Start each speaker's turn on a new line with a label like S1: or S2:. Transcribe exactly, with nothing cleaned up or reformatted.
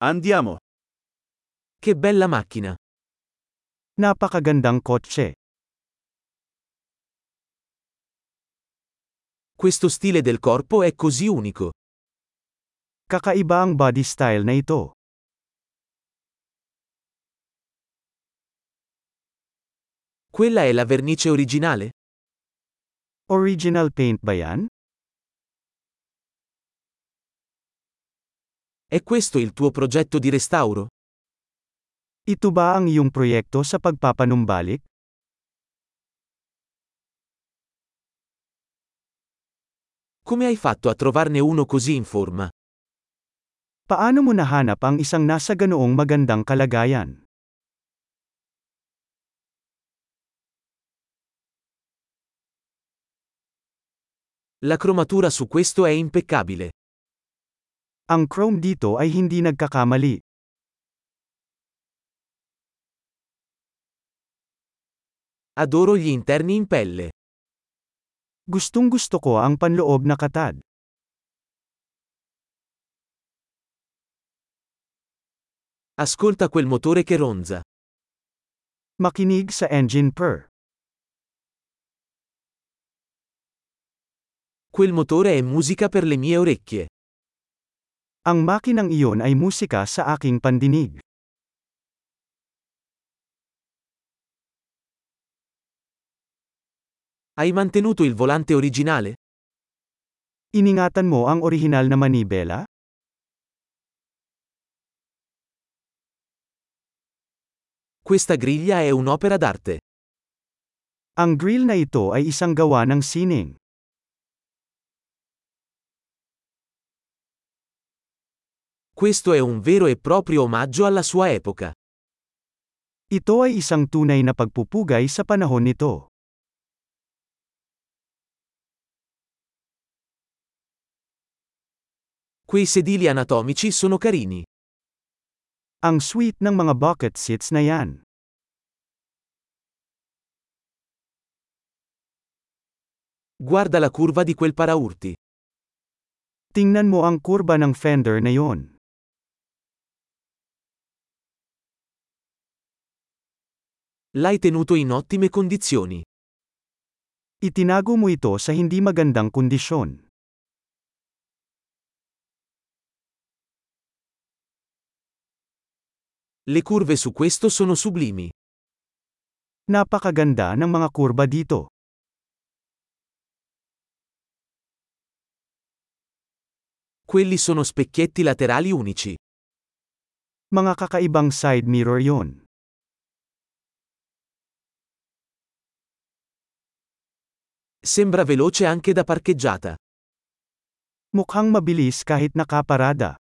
S1: Andiamo.
S2: Che bella macchina!
S3: Napakagandang kotse.
S2: Questo stile del corpo è così unico.
S3: Kakaiba ang body style na ito.
S2: Quella è la vernice originale?
S3: Original paint ba yan?
S2: È questo il tuo progetto di restauro?
S3: Ito ba ang iyong proyekto sa pagpapanumbalik?
S2: Come hai fatto a trovarne uno così in forma?
S3: Paano mo nahanap ang isang nasa ganoong magandang kalagayan?
S2: La cromatura su questo è impeccabile.
S3: Ang chrome dito ay hindi nagkakamali.
S2: Adoro gli interni in pelle.
S3: Gustong gusto ko ang panloob na katad.
S2: Ascolta quel motore che ronza.
S3: Makinig sa engine purr.
S2: Quel motore è musica per le mie orecchie.
S3: Ang makinang iyon ay musika sa aking pandinig.
S2: Hai mantenuto il volante originale?
S3: Iningatan mo ang orihinal na manibela?
S2: Questa griglia è un'opera d'arte.
S3: Ang grill na ito ay isang gawa ng sining.
S2: Questo è un vero e proprio omaggio alla sua epoca.
S3: Ito ay isang tunay na pagpupugay sa panahon nito.
S2: Quei sedili anatomici sono carini.
S3: Ang sweet ng mga bucket seats na yan.
S2: Guarda la curva di quel paraurti.
S3: Tingnan mo ang kurba ng fender na yon.
S2: L'hai tenuto in ottime condizioni.
S3: Itinago mo ito sa hindi magandang kondisyon.
S2: Le curve su questo sono sublimi.
S3: Napakaganda ng mga kurba dito.
S2: Quelli sono specchietti laterali unici.
S3: Mga kakaibang side mirror yon.
S2: Sembra veloce anche da parcheggiata.
S3: Mukhang mabilis kahit nakaparada.